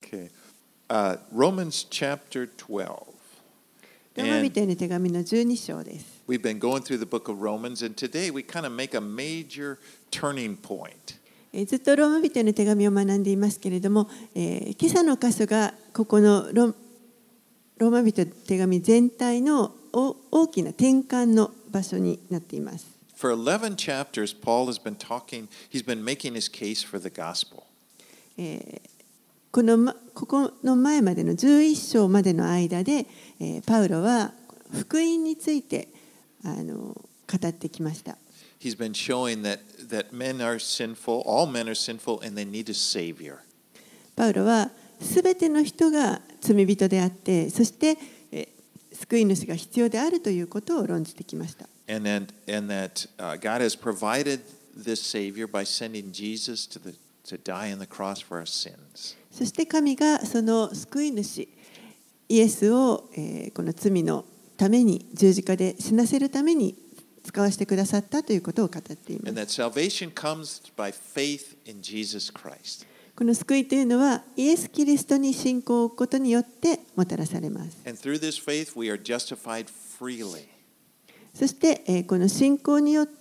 Okay. Romans chapter 12. ローマ人への手紙の12章です。 We've been going through the book of Romans, and today we kind of make a major turning point. ずっとローマ人への手紙を学んでいますけれども、今朝の箇所がここのローマ人への手紙全体の大きな転換の場所になっています。 For 11 chapters, Paul has been he's been making his case for the gospel. ここの前までの11章までの間で、パウロは福音について語ってきました。 He's been showing that men are sinful, all men are sinful, and they need a savior. パウロはすべての人が罪人であって、そして救い主が必要であるということを論じてきました。 And that God has provided this savior by sending Jesus to die on the cross for our sins. そして神がその救い主イエスを、この罪のために十字架で死なせるために使わせてくださったということを語っています。 And that salvation comes by faith in Jesus Christ. この救いというのはイエス・キリストに信仰を置くことによってもたらされます。 And through this faith we are justified freely. そして、この信仰によって、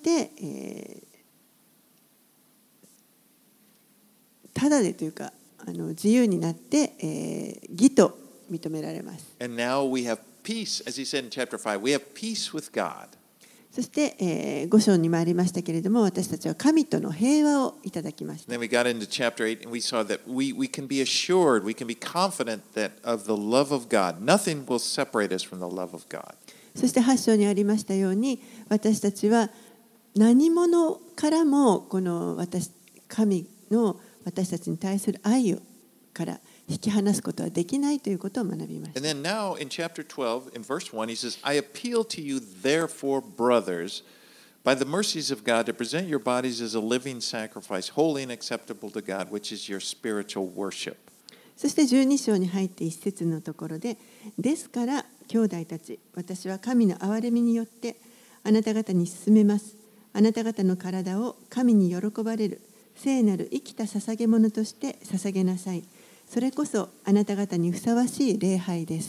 ただでというか自由になって、義と認められます。 And now we have peace, as he said in chapter 5, we have peace with God. そして、5章にもありましたけれども、私たちは神との平和をいただきました。 Then we got into chapter 8 and we saw that we can be assured, we can be confident that of the love of God. Nothing will separate us from the love of God. そして8章にありましたように、私たちは何者からもこの神の私たちに対する愛から引き離すことはできないということを学びました。 And then now in chapter 12, in verse 1, he says, I appeal to you, therefore, brothers, by the mercies of God, to present your bodies as a living sacrifice, holy and acceptable to God, which is your spiritual worship. そして12章に入って一節のところで、ですから兄弟たち、私は神の憐れみによってあなた方に勧めます。あなた方の体を神に喜ばれる聖なる生きた捧げ物として捧げなさい。それこそあなた方にふさわしい礼拝です。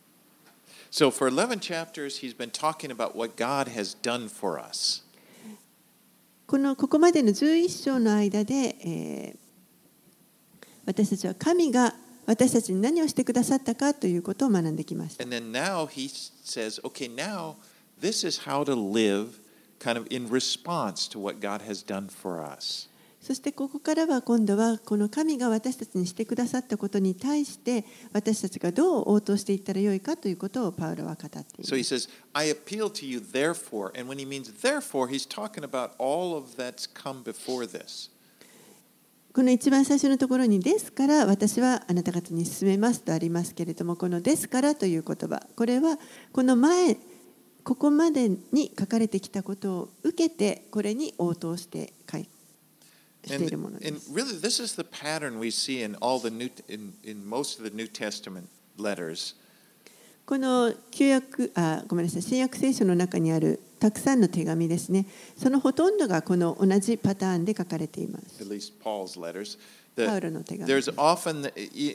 So for 11 chapters, he's been talking about what God has done for us. ここまでの11章の間で、私たちは神が私たちに何をしてくださったかということを学んできました。 And then now he says, okay, now this is how to live kind of in response to what God has done for us. そしてここからは今度はこの神が私たちにしてくださったことに対して私たちがどう応答していったらよいかということをパウロは語っています。 So he says, I appeal to you therefore, and when he means therefore, he's talking about all of that's come before this. この一番最初のところにですから私はあなた方に進めますとありますけれども、このですからという言葉、これはこの前ここまでに書かれてきたことを受けてこれに応答して書いてしているものです。 And really, this is the pattern we see in most of the New Testament letters. この新約聖書の中にあるたくさんの手紙ですね。そのほとんどがこの同じパターンで書かれています。 At least Paul's letters. パウロの手紙。 There's often,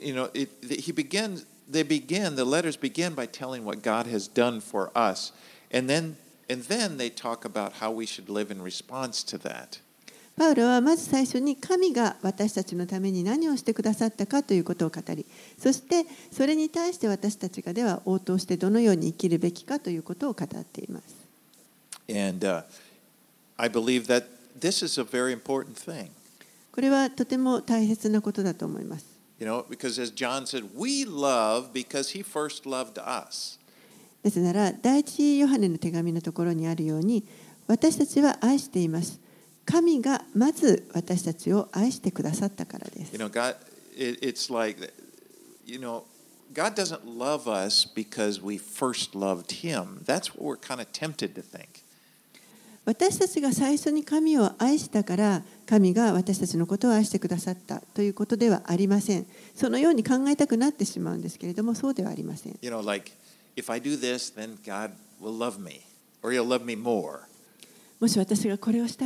the letters begin by telling what God has done for us, and then they talk about how we should live in response to that. パウロはまず最初に神が私たちのために何をしてくださったかということを語り、そしてそれに対して私たちがでは応答してどのように生きるべきかということを語っています。 And I believe that this is a very important thing. これはとても大切なことだと思います。 Because as John said, we love because he first loved us. なぜなら第一ヨハネの手紙のところにあるように、私たちは愛しています。神がまず私たちを愛してくださったからです。 It's like, God doesn't love us because we first loved him. That's what we're kind of tempted to think. 私たちが最初に神を愛したから神が私たちのことを愛してくださったということではありません。そのように考えたくなってしまうんですけれども、そうではありません。 Like, if I do this, then God will love me, or he'll love me more. もし私がこれをしたら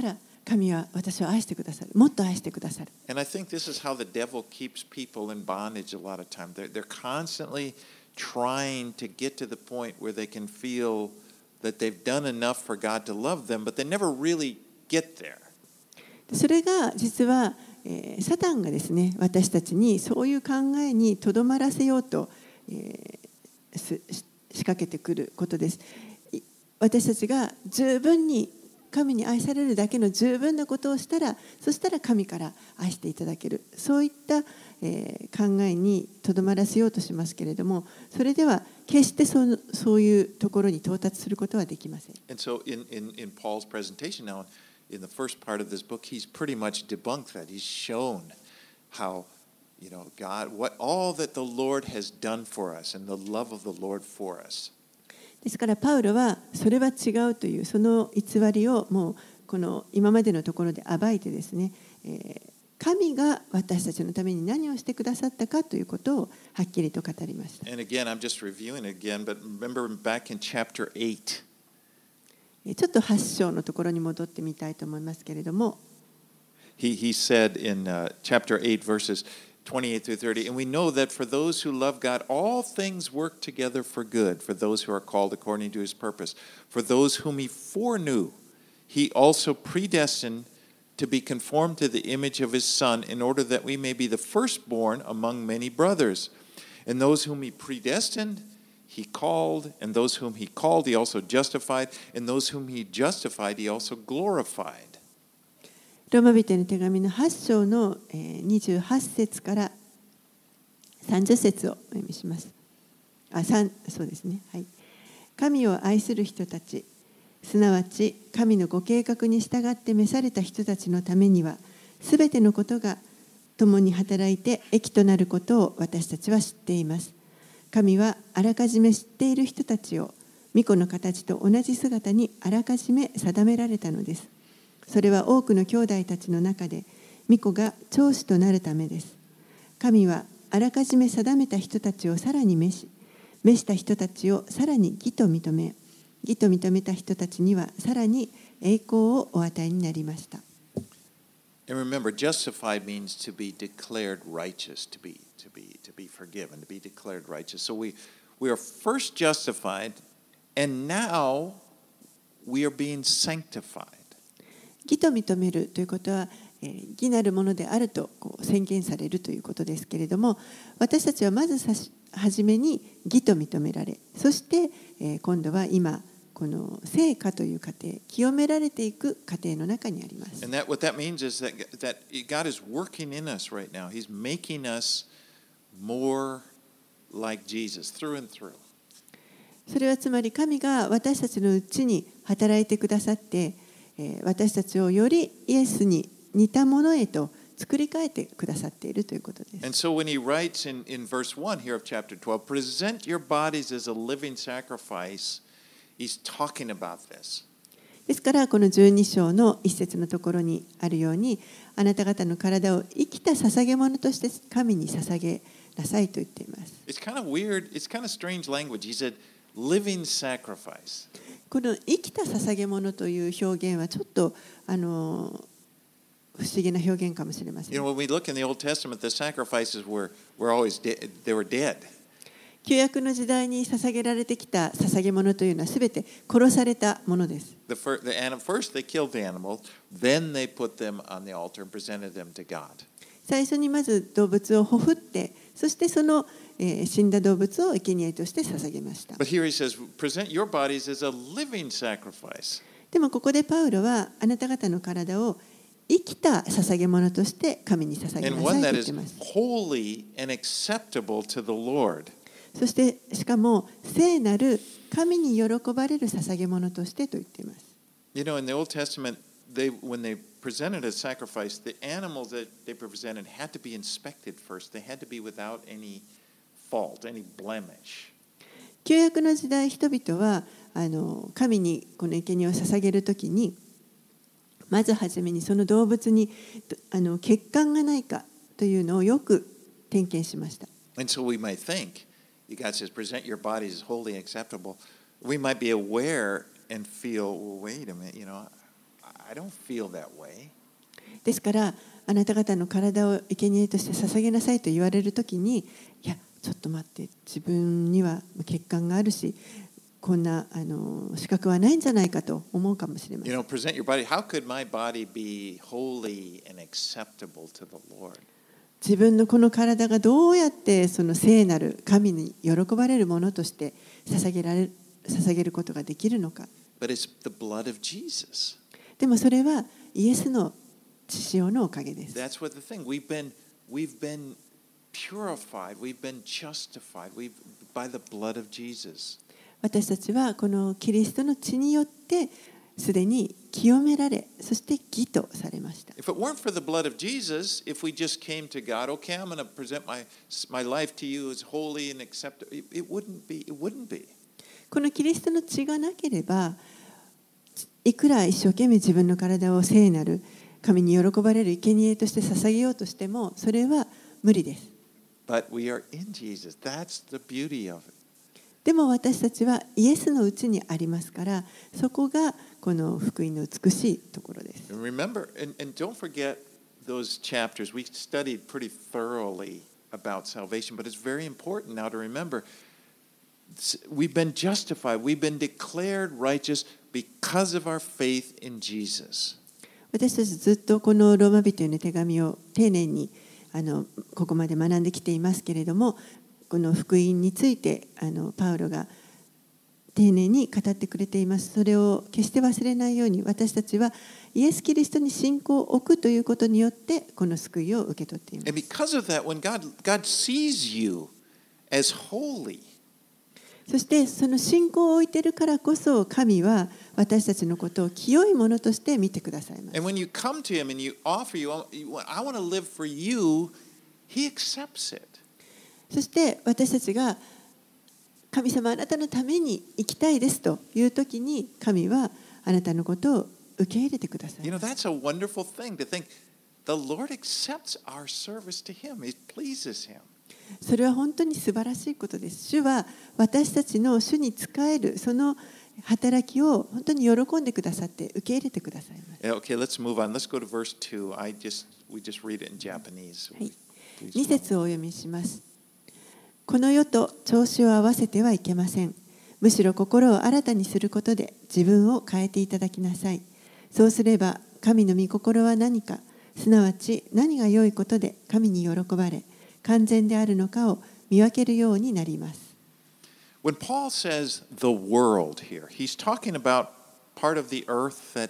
神は私を愛してくださる。もっと愛してくださる。 And I think this is how the devil keeps people in bondage a lot of time. They're constantly trying to get to the point where they can feel that they've done enough for God to love them, but they never really get there. それが実は、サタンがですね、私たちにそういう考えにとどまらせようと、仕掛けてくることです。私たちが十分に神に愛されるだけの十分なことをしたら、そしたら神から愛していただける、そういった、考えにとどまらせようとしますけれども、それでは決してそういうところに到達することはできません。 And so in Paul's presentation now, in the first part of this book, he's pretty much debunked that. He's shown how, God, what all that the Lord has done for us and the love of the Lord for us. ですからパウロはそれは違うというその偽りをもうこの今までのところで暴いてですね、神が私たちのために何をしてくださったかということをはっきりと語りました。 And again, I'm just reviewing it again, but remember back in chapter 8. ちょっと8章のところに戻ってみたいと思いますけれども、 He said in chapter 8, verses 28 through 30, and we know that for those who love God, all things work together for good, for those who are called according to his purpose. For those whom he foreknew, he also predestined to be conformed to the image of his Son, in order that we may be the firstborn among many brothers. And those whom he predestined, he called, and those whom he called, he also justified, and those whom he justified, he also glorified. ローマ人への手紙の8章の28節から30節をお読みします。そうですね。はい。神を愛する人たち、すなわち神のご計画に従って召された人たちのためには、すべてのことが共に働いて益となることを私たちは知っています。神はあらかじめ知っている人たちを御子の形と同じ姿にあらかじめ定められたのです。それは多くの兄弟たちの中で御子が長子となるためです。神はあらかじめ定めた人たちをさらに召した人たちをさらに義と認め、義と認めた人たちにはさらに栄光をお与えになりました。 And remember, justified means to be declared righteous, to be forgiven, to be declared righteous. So we are first justified, and now we are being sanctified. 義と認めるということは、義なるものであると宣言されるということですけれども、私たちはまず初めに義と認められ、そして、今度は今この聖化という過程、清められていく過程の中にあります。 And what that means is that God is working in us right now. He's making us more like Jesus through and through. それはつまり神が私たちのうちに働いてくださって、私たちをよりイエスに似たものへと作り変えてくださっているということです。 And so when he writes in verse 1 here of chapter 12, present your bodies as a living sacrifice, he's talking about this. ですからこの12章の一節のところにあるように、あなた方の体を生きた捧げ物として神に捧げなさいと言っています。 It's kind of weird, it's kind of strange language. He said, living sacrifice. この生きた捧げ物という表現はちょっと不思議な表現かもしれません。 You know, when we look in the Old Testament, the sacrifices were always they were dead. 旧約の時代に捧げられてきた捧げ物というのはすべて殺されたものです。 First they killed the animal, then they put them on the altar and presented them to God. 最初にまず動物をほふって、そしてその死んだ動物を生贄として捧げました。 But here he says, present your bodies as a living sacrifice. でもここでパウロはあなた方の体を生きた捧げ物として神に捧げな And さい one と that 言っ is ています。 holy and acceptable to the Lord. そしてしかも聖なる神に喜ばれる捧げ物としてと言っています。 You know, in the Old Testament, when they presented a sacrifice, the animals that they presented had to be inspected first. They had to be without any fault, any blemish. 旧約の時代、人々は神にこの生贄を捧げるときに、まずはじめにその動物に欠陥がないかというのをよく点検しました。 And so we might think, God says, present your bodies as holy and acceptable. We might be aware and feel, well, wait a minute, I I don't feel that way. ですからあなた方の体を生贄として捧げなさいと言われるときに、いやちょっと待って、自分には血管があるし、こんな資格はないんじゃないかと思うかもしれません。 You know, present your body. How could my body be holy and acceptable to the Lord? 自分のこの体がどうやってその聖なる神に喜ばれるものとして捧げることができるのか。 But it's the blood of Jesus. でもそれはイエスの血潮のおかげです。 That's what the thing. We've been purified. We've been justified. By the blood of Jesus. 私たちはこのキリストの血によってすでに清められ、そして義とされました。 If it weren't for the blood of Jesus, if we just came to God, okay, I'm going to present my life to you as holy and acceptable, it wouldn't be. It wouldn't be. このキリストの血がなければ、いくら一生懸命自分の体を聖なる神に喜ばれる生贄として捧げようとしても、それは無理です。 But we are in Jesus. That's the beauty of it. でも私たちはイエスのうちにありますから、そこがこの福音の美しいところです。 And remember, and don't forget those chapters. We studied pretty thoroughly about salvation, but it's very important now to remember we've been justified, we've been declared righteous because of our faith in Jesus. 私たちずっとこのローマ人への手紙を丁寧にここまで学んできていますけれども、この福音についてパウロが丁寧に語ってくれています。それを決して忘れないように、私たちはイエス・キリストに信仰を置くということによってこの救いを受け取っています。 And because of that, when God sees you as holy, そしてその信仰を置いているからこそ、神は私たちのことを清いものとして見てくださいます。 and when you come to Him and you offer I want to live for you, He accepts it. そして私たちが神様あなたのために生きたいですというときに、神はあなたのことを受け入れてください。 You know, that's a wonderful thing to think. The Lord accepts our service to Him. It pleases Him. それは本当に素晴らしいことです。主は私たちの主に仕えるその働きを本当に喜んでくださって受け入れてくださいます。 Okay, let's move on. Let's go to verse 2. We just read it in Japanese. はい、2節をお読みします。この世と調子を合わせてはいけません。むしろ心を新たにすることで自分を変えていただきなさい。そうすれば神の御心は何か、すなわち何が良いことで神に喜ばれ、完全であるのかを見分けるようになります。 When Paul says the world here, he's talking about part of the earth that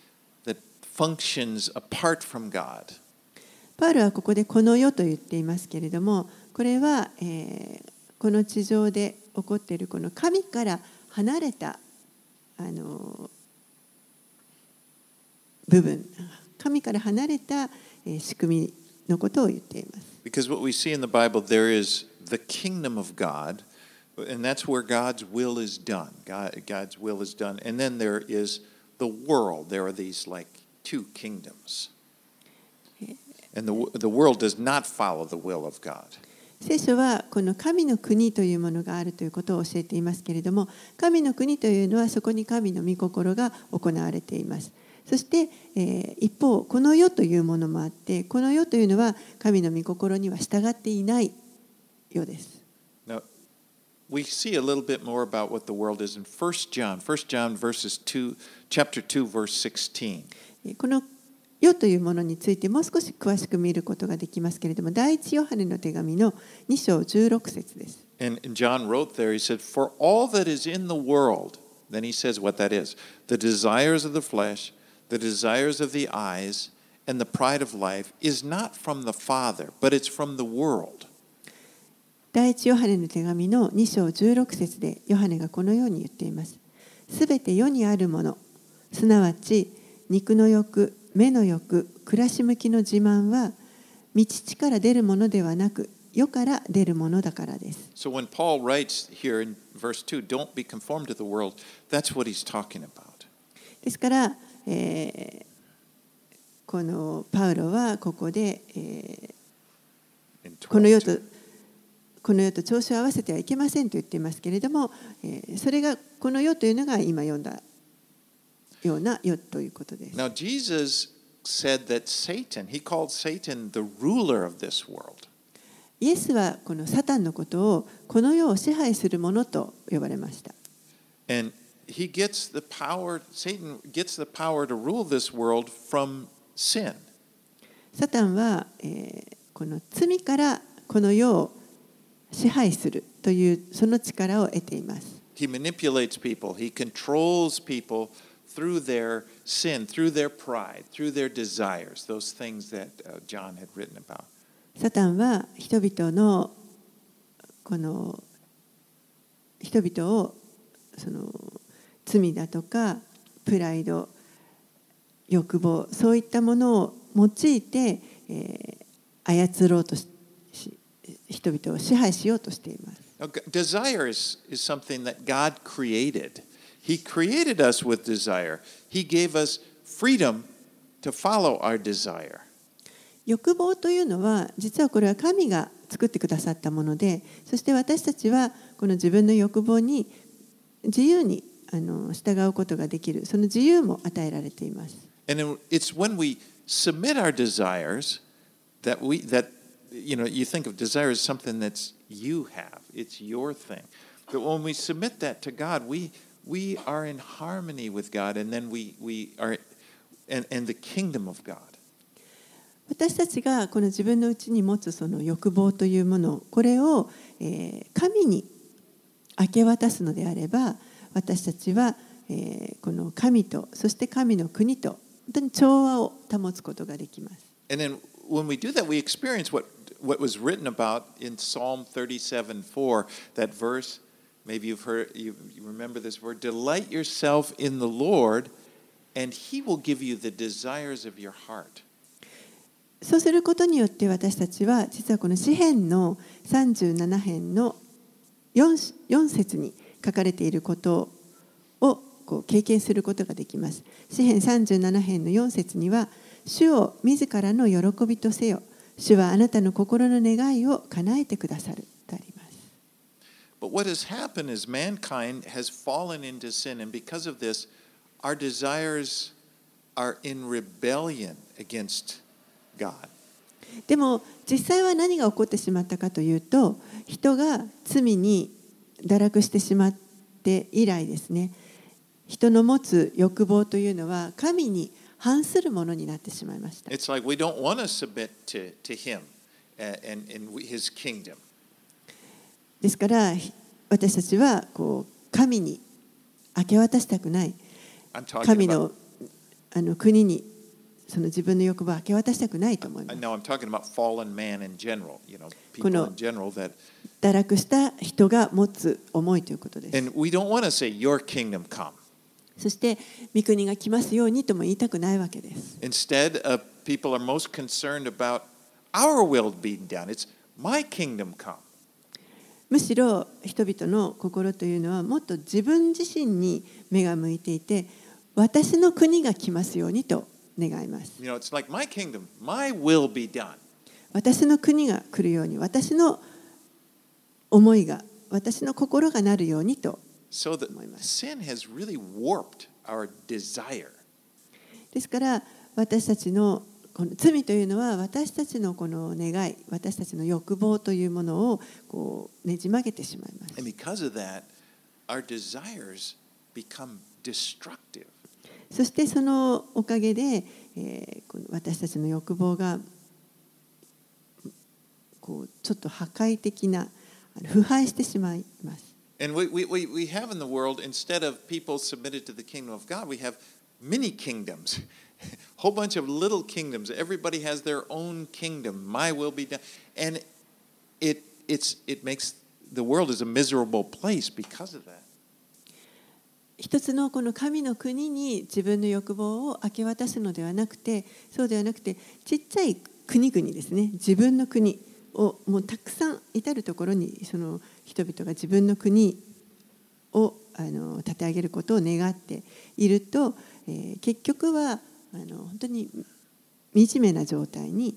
functions apart from God. パウロはここでこの世と言っていますけれども、これは、この地上で起こっているこの神から離れた部分、神から離れた仕組みのことを言っています。 Because what we see in the Bible, there is the kingdom of God, and that's where God's will is done. God's will is done. And then there is the world. There are these like two kingdoms. And the world does not follow the will of God. 聖書はこの神の国というものがあるということを教えていますけれども、神の国というのはそこに神の御心が行われています。そして、一方この世というものもあって、この世というのは神の御心には従っていない世です。 Now, we see a little bit more about what the world is in 1 John chapter 2, verse 16. この世というものについてもう少し詳しく見ることができますけれども、第一ヨハネの手紙の2章16節です。 And John wrote there, he said, For all that is in the world, then he says what that is, the desires of the flesh, the desires of the eyes, and the pride of life is not from the Father, but it's from the world. 第一ヨハネの手紙の2章16節でヨハネがこのように言っています。すべて世にあるもの、すなわち肉の欲、目の欲、暮らし向きの自慢は、御父から出るものではなく、世から出るものだからです。 So when Paul writes here in verse 2, don't be conformed to the world, that's what he's talking about. ですから、このパウロはここで、この世と調子を合わせてはいけませんと言っていますけれども、それがこの世というのが今読んだような世ということです。 Now, Jesus said that he called Satan the ruler of this world. イエスはこのサタンのことをこの世を支配するものと呼ばれました。 And Satan gets the power to rule this world from sin. サタンは、この罪からこの世を支配するというその力を得ています。 He manipulates people. He controls people through their sin, through their pride, through their desires, those things that John had written about. サタンは人々のこの人々をその罪だとかプライド、欲望、そういったものを用いて、操ろうとし人々を支配しようとしています。 Desire is something that God created. He created us with desire. He gave us freedom to follow our desire. 欲望というのは実はこれは神が作ってくださったもので、そして私たちはこの自分の欲望に自由に従うことができる、その自由も与えられています。 And it's when we submit our desires that you think of desire as something that's you have. It's your thing. But when we submit that to God, we are in harmony with God, and then we are in the kingdom of God. 私たちがこの自分の内に持つその欲望というもの、これを神に明け渡すのであれば、私たちはこの神とそして神の国と本当に調和を保つことができます。 And then when we do that, we experience what was written about in Psalm 37:4, that verse. Maybe you remember this word. Delight yourself in the Lord, and He will give you the desires of your heart. そうすることによって私たちは実はこの詩編の37編の 4節に書かれていることを経験することができます。詩編37編の4節には、主を自らの喜びとせよ。主はあなたの心の願いを叶えてくださるとあります。 But what has happened is mankind has fallen into sin, and because of this, our desires are in rebellion against God. でも実際は何が起こってしまったかというと、人が罪に堕落してしまって以来ですね、人の持つ欲望というのは神に反するものになってしまいました。 It's like we don't want to submit to Him and His kingdom. ですから私たちは神に明け渡したくない、神の国にその自分の欲望を明け渡したくないと思います。 Now I'm talking about fallen man in general, people in general that 堕落した人が持つ思いということです。 And we don't want to say your kingdom come. そして御国が来ますようにとも言いたくないわけです。 Instead, people are most concerned about our will being done. It's my kingdom come. むしろ人々の心というのはもっと自分自身に目が向いていて、私の国が来ますようにと願います。 It's like my kingdom, my will be done. 私の国が来るように、私の思いが、私の心がなるようにと。 So that sin has really warped our desire. ですから私たちのこの罪というのは私たちのこの願い、私たちの欲望というものをねじ曲げてしまいます。 And because of that, our desires become destructive. そしてそのおかげで、私たちの欲望がちょっと破壊的な腐敗してしまいます。 And we have in the world, instead of people submitted to the kingdom of God, we have many kingdoms, a whole bunch of little kingdoms. Everybody has their own kingdom. My will be done. And it makes the world is a miserable place because of that. 一つのこの神の国に自分の欲望を明け渡すのではなくて、そうではなくてちっちゃい国々ですね、自分の国をもうたくさん至るところにその人々が自分の国を立て上げることを願っていると、結局は本当に惨めな状態に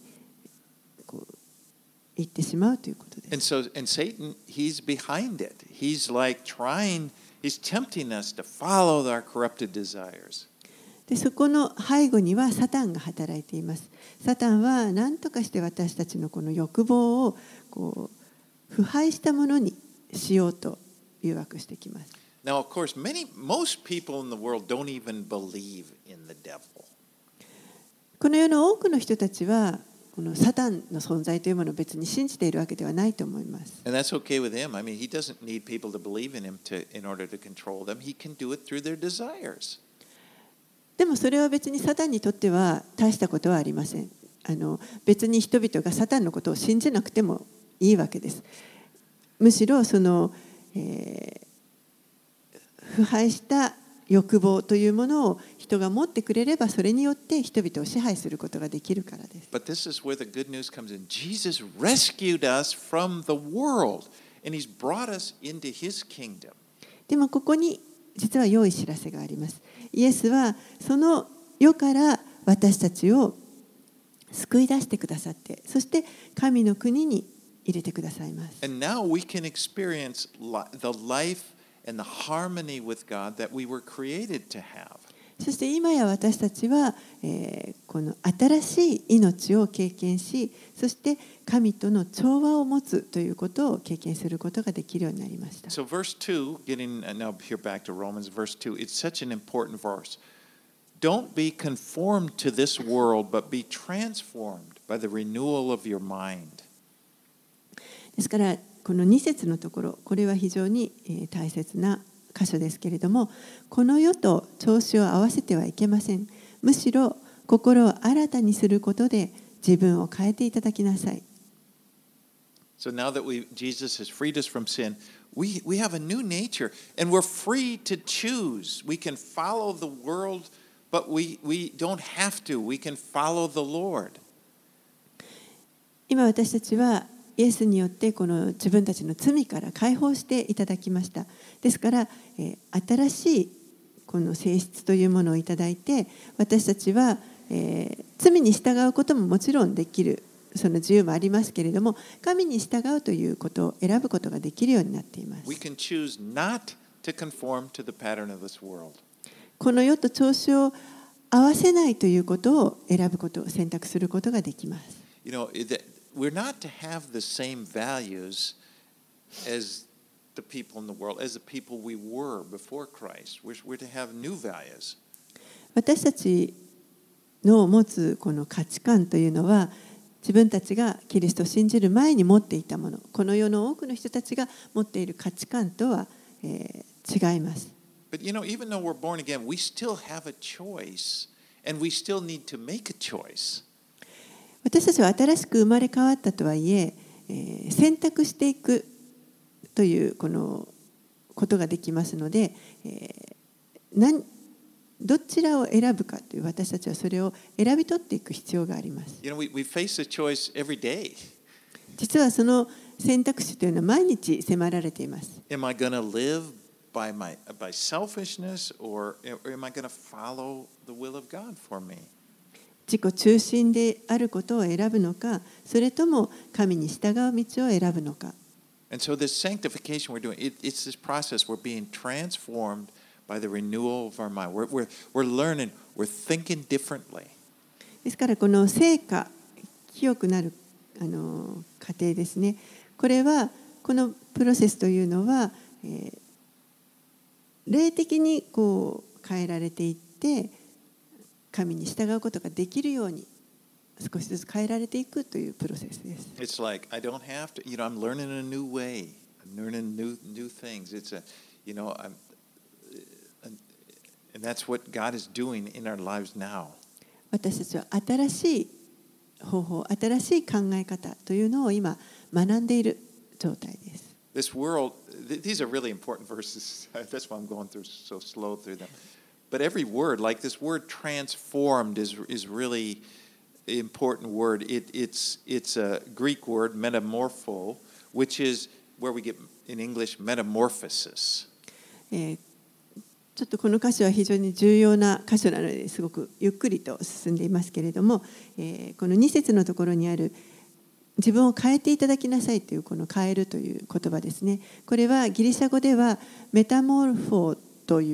行ってしまうということです。 And Satan, he's behind it. He's tempting us to follow our corrupted desires. でそこの背後にはサタンが働いています。サタンは何とかして私たちのこの欲望をこう腐敗したものにしようと誘惑してきます。 Now, of course, most people in the world don't even believe in the devil. この世の多くの人たちはこのサタンの存在というものを別に信じているわけではないと思います。 And that's okay with him. I mean, he doesn't need people to believe in him in order to control them. He can do it through their desires. でもそれは別にサタンにとっては大したことはありません。別に人々がサタンのことを信じなくてもいいわけです。むしろその、腐敗した欲望というものを人が持ってくれればそれによって人々を支配することができるからです。 But this is where the good news comes in. Jesus rescued us from the world, and he's brought us into his kingdom. でもここに実は良い知らせがあります。イエスはその世から私たちを救い出してくださって、そして神の国に入れてくださいます。 And now we can experience the life and the harmony with God that we were created to have. そして今や私たちは、この新しい命を経験し、そして神との調和を持つということを経験することができるようになりました。 So verse 2, getting now here back to Romans, verse 2, it's such an important verse. Don't be conformed to this world, but be transformed by the renewal of your mind. ですからこの2節のところ、これは非常に大切な箇所ですけれども、この世と調子を合わせてはいけません。むしろ心を新たにすることで自分を変えていただきなさい。 So now that Jesus has freed us from sin, we have a new nature, and we're free to choose. We can follow the world, but we don't have to. We can follow the Lord. 今私たちはイエスによってこの自分たちの罪から解放していただきました。ですから、新しいこの性質というものをいただいて、私たちは、罪に従うことももちろんできる、その自由もありますけれども、神に従うということを選ぶことができるようになっています。 We can choose not to conform to the pattern of this world. この世と調子を合わせないということを選ぶことを選択することができます。 You know, we're not to have the same values as the people in the world, as the people we were before Christ. We're to have new values. 私たちの持つこの価値観というのは、自分たちがキリストを信じる前に持っていたもの、この世の多くの人たちが持っている価値観とは、違います。 But you know, even though we're born again, we still have a choice, and we still need to make a choice. 私たちは新しく生まれ変わったとはいえ、選択していくというこのことができますので、どちらを選ぶかという、私たちはそれを選び取っていく必要があります。 You know, we face a choice every day. 実はその選択肢というのは毎日迫られています。 Am I going to live by selfishness, or am I going to follow the will of God for me? 自己中心であることを選ぶのか、それとも神に従う道を選ぶのか。 And so this sanctification we're doing, it's this process. We're being transformed by the renewal of our mind. We're learning, we're thinking differently. ですからこの聖化、清くなる過程ですね。これはこのプロセスというのは、霊的にこう変えられていって、神に従うことができるように少しずつ変えられていくというプロセスです。 It's like I don't have to, you know, I'm learning a new way. I'm learning new things. It's a, you know, and that's what God is doing in our lives now. 私たちは新しい方法、新しい考え方というのを今学んでいる状態です。 This world, these are really important verses. That's why I'm going through so slow through them. But every word, like this word transformed, is really an important word. It's a Greek word, metamorpho, which is where we get in English metamorphosis. ちょっとこの箇所は非常に重要な箇所なのですごくゆっくりと進んでいますけれども、この2節のところにある自分を変えていただきなさいというこの変えるという言葉ですね。これはギリシャ語ではメタモルフォーという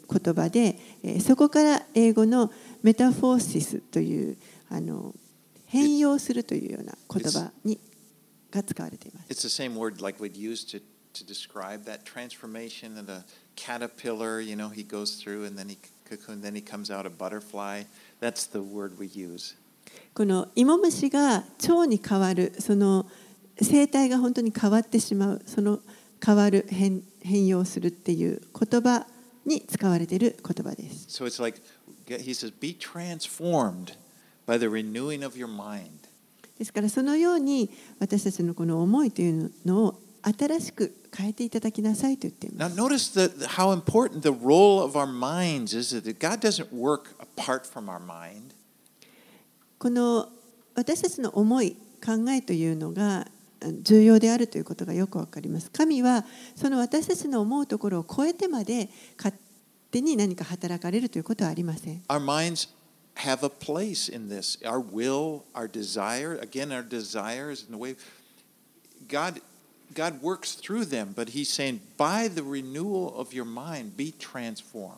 言葉で、そこから英語のメタフォーシスという変容するというような言葉が使われています。 It's the same word like we'd use to describe that transformation of a caterpillar. You know, he goes through and then he cocoon, then he comes out a butterfly. That's the word we use. この芋虫が蝶に変わる、その生態が本当に変わってしまう、その変わる、変容するっていう言葉に使われている言葉です。 So it's like he says, be transformed by the renewing of your mind. ですからそのように私たちのこの思いというのを新しく変えていただきなさいと言っています。 Now notice how important the role of our minds is. That God doesn't work apart from our mind. この私たちの思い、考えというのが重要であるということがよくわかります。神はその私たちの思うところを超えてまで勝手に何か働かれるということはありません。 Our minds have a place in this. Our will, our desire, again, our desires in the way God works through them, but He's saying, by the renewal of your mind, be transformed.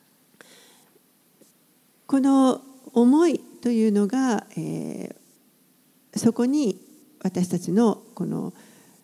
この思いというのが、そこに私たちのこの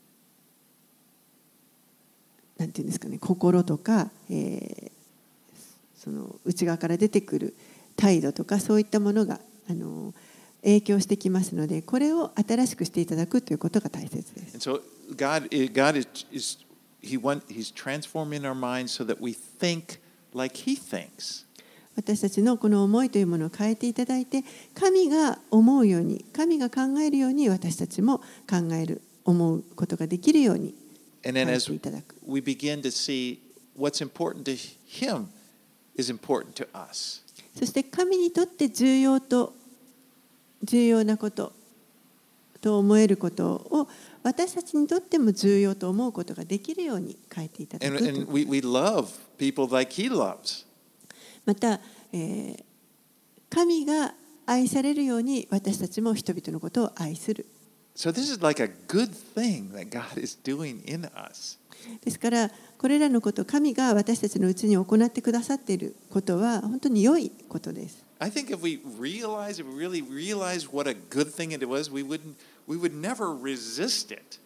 なんていうんですかね、心とか、その内側から出てくる態度とかそういったものが影響してきますので、これを新しくしていただくということが大切です。 And so God is He's transforming our minds so that we think like He thinks. 私たちのこの思いというものを変えていただいて、神が思うように、神が考えるように私たちも考える、思うことができるように変えていただく。 And then as we begin to see what's important to Him is important to us. そして神にとって重要なことと思えることを私たちにとっても重要と思うことができるように変えていただく。 And we love people like He loves. また、神が愛されるように私たちも人々のことを愛する。 So this is like a good thing that God is doing in us. ですからこれらのこと、神が私たちのうちに行ってくださっていることは本当に良いことです。 I think if we really realize what a good thing it was, we would never resist it.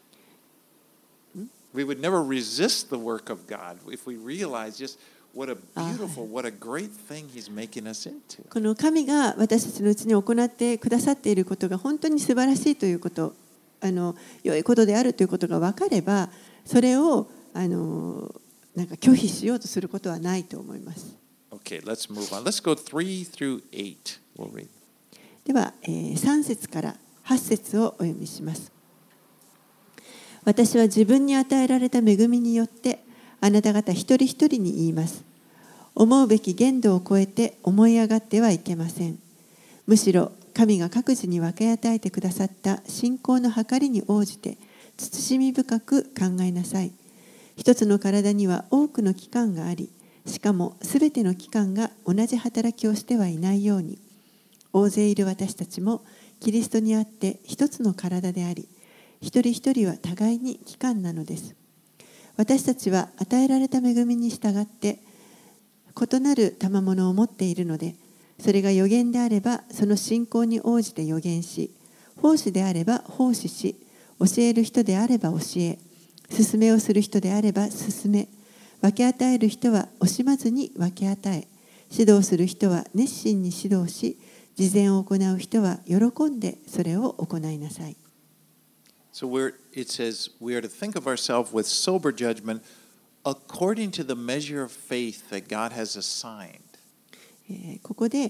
We would never resist the work of God if we realize just what a beautiful, what a great thing He's making us into. この神が私たちのうちに行ってくださっていることが本当に素晴らしいということ、良いことであるということが分かれば、それをなんか拒否しようとすることはないと思います。 Okay, let's move on. Let's go 3 through 8. We'll read. では、3節から8節をお読みします。私は自分に与えられた恵みによってあなた方一人一人に言います。思うべき限度を超えて思い上がってはいけません。むしろ神が各自に分け与えてくださった信仰の計りに応じて慎み深く考えなさい。一つの体には多くの器官があり、しかもすべての器官が同じ働きをしてはいないように、大勢いる私たちもキリストにあって一つの体であり、一人一人は互いに器官なのです。私たちは与えられた恵みに従って異なる賜物を持っているので、それが預言であればその信仰に応じて預言し、奉仕であれば奉仕し、教える人であれば教え、勧めをする人であれば勧め、分け与える人は惜しまずに分け与え、指導する人は熱心に指導し、慈善を行う人は喜んでそれを行いなさい。 So it says we are to think of ourselves with sober judgment according to the measure of faith that God has assigned. ここで、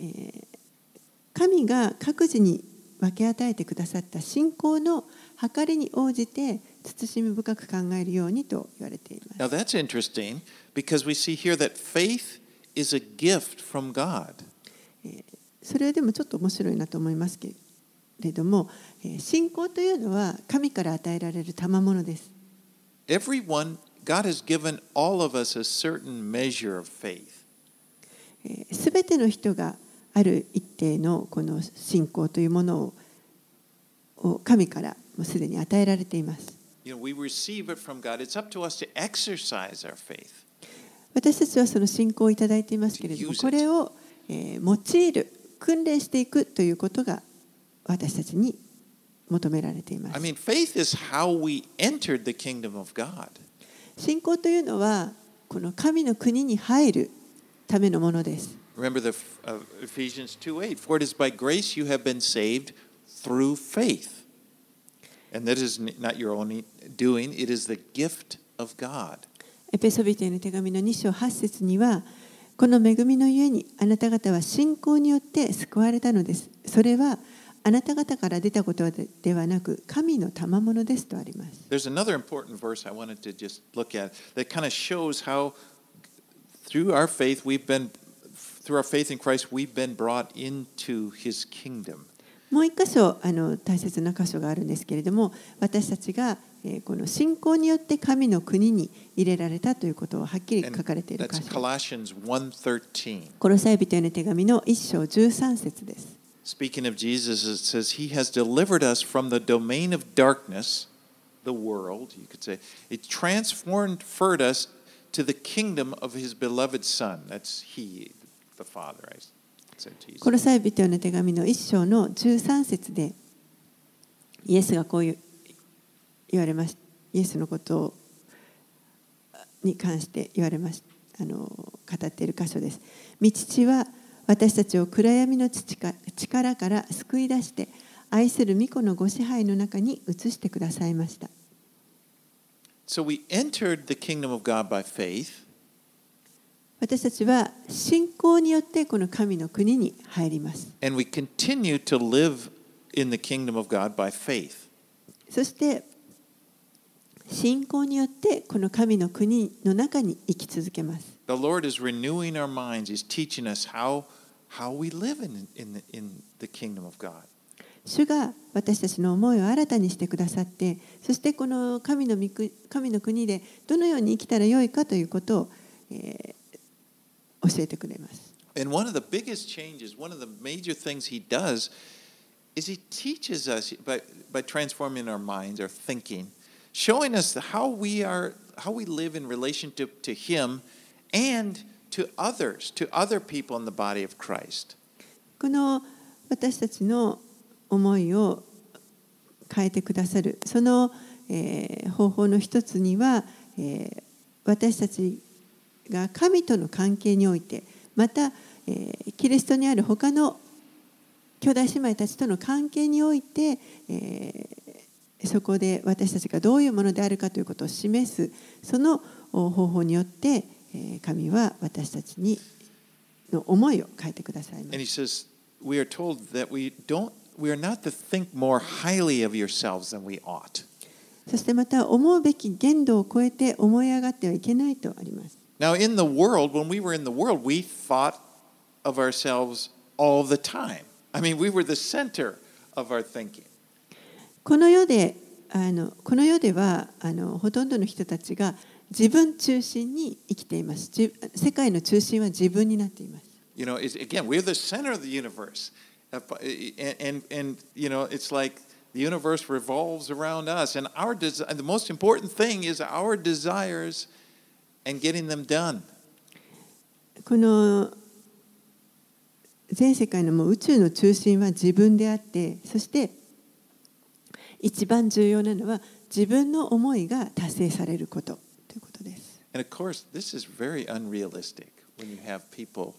神が各自に分け与えてくださった信仰の計りに応じて慎み深く考えるようにと言われています。 Now that's interesting because we see here that faith is a gift from God. それでもちょっと面白いなと思いますけれども、信仰というのは神から与えられる賜物です。 Everyone, God has given all of us a certain measure of faith. すべての人がある一定のこの信仰というものを神からもうすでに与えられています。 We receive it from God. It's up to us to exercise our faith. 私たちはその信仰をいただいていますけれども、これを用いる、訓練していくということが私たちに求められています。 I mean, faith is how we entered the kingdom of God. 信仰というのはこの神の国に入るためのものです。 Remember the Ephesians 2:8. For it is by grace you have been saved through faith. And that is not your own doing, it is the gift of God. エペソビテへの手紙の2章8節には、この恵みのゆえにあなた方は信仰によって救われたのです。それはあなた方から出たことではなく、神の賜物ですとあります。 There's another important verse I wanted to just look at that kind of shows how through our faith in Christ we've been brought into His kingdom. もう一箇所大切な箇所があるんですけれども、私たちがこの信仰によって神の国に入れられたということをはっきり書かれている箇所。 Colossians 1:13. コロサイ人への手紙の1章13節です。 Speaking of Jesus, it says, He has delivered us from the domain of darkness, the world, you could say. It transferred us to the kingdom of His beloved Son. That's He, the Father, I said Jesus. コロサイ人への手紙の1章の13節で、イエスがこう言われました。イエスのことに関して言われました。語っている箇所です。御父は私たちを暗闇の力から救い出して愛する御子のご支配の中に移してくださいました。 So we entered the kingdom of God by faith. 私たちは信仰によってこの神の国に入ります。 And we continue to live in the kingdom of God by faith. そして信仰によってこの神の国の中に生き続けます。 The Lord is renewing our minds. He's teaching us how we live in the kingdom of God. 主が私たちの思いを新たにしてくださって、そしてこの神の国でどのように生きたらよいかということを、教えてくれます。 And one of the biggest changes, one of the major things He does, is He teaches us by transforming our minds, our thinking, showing us how we live in relationship to Him and to others, to other people in the body of Christ. この私たちの思いを変えてくださるその、方法の一つには、私たちが神との関係において、また、キリストにある他の兄弟姉妹たちとの関係において、そこで私たちがどういうものであるかということを示すその方法によって神は私たちの思いを変えてくださいます。 And He says, we are told that we are not to think more highly of yourselves than we ought. そしてまた思うべき限度を超えて思い上がってはいけないとあります。 Now in the world, when we were in the world, we thought of ourselves all the time. I mean, we were the center of our thinking. この世ではほとんどの人たちが自分中心に生きています。世界の中心は自分になっています。 You know, again, we're the center of the universe. And you know, it's like the universe revolves around us. And the most important thing is our desires and getting them done. この全世界のもう宇宙の中心は自分であって、そして一番重要なのは自分の思いが達成されることということです。 And of course, this is very unrealistic when you have people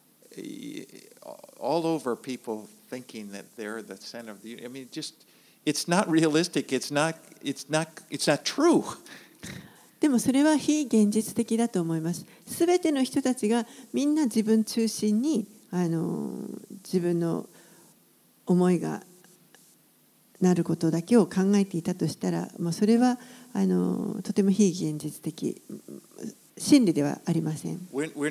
all over people thinking that they're the center of the. I mean, it's not realistic. It's not true. でもそれは非現実的だと思います。すべての人たちがみんな自分中心に自分の思いがなることだけを考えていたとしたら、もうそれはとても非現実的、真理ではありません。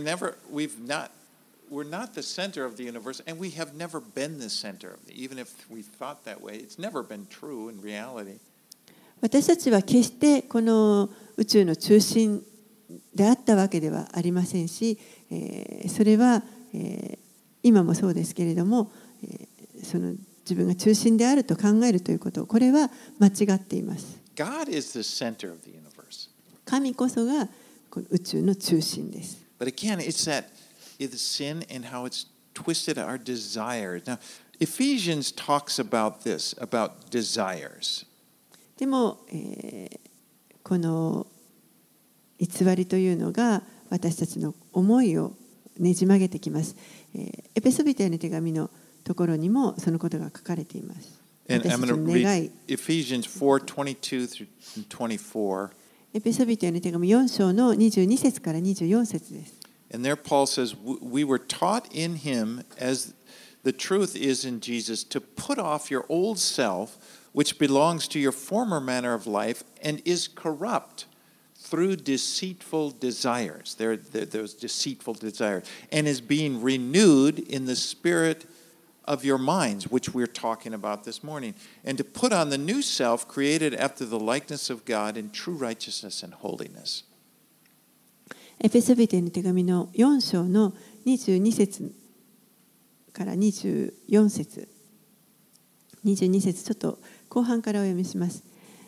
We're not the center of the universe, and we have never been the center of it. Even if we thought that way, it's never been true in reality. 私たちは決してこの宇宙の中心であったわけではありませんし、それは、今もそうですけれども、その自分が中心であると考えるということ、これは間違っています。 God is the center of the universe. 神こそがこの宇宙の中心です。 But again, it's sin and how it's twisted our desires. Now, Ephesians talks about this, about desires. でも、この偽りというのが私たちの思いをねじ曲げてきます。エペソビトへの手紙のところにもそのことが書かれています。 And I'm going to read Ephesians 4:22 through 24. エペソビトへの手紙4章の22節から24節です。 And there Paul says, we were taught in him, as the truth is in Jesus, to put off your old self, which belongs to your former manner of life and is corrupt through deceitful desires. Those deceitful desires. And is being renewed in the spirit of your minds, which we're talking about this morning. And to put on the new self, created after the likeness of God in true righteousness and holiness. エペソビテの手紙の4章の22節から24節22節ちょっと後半からお読みします。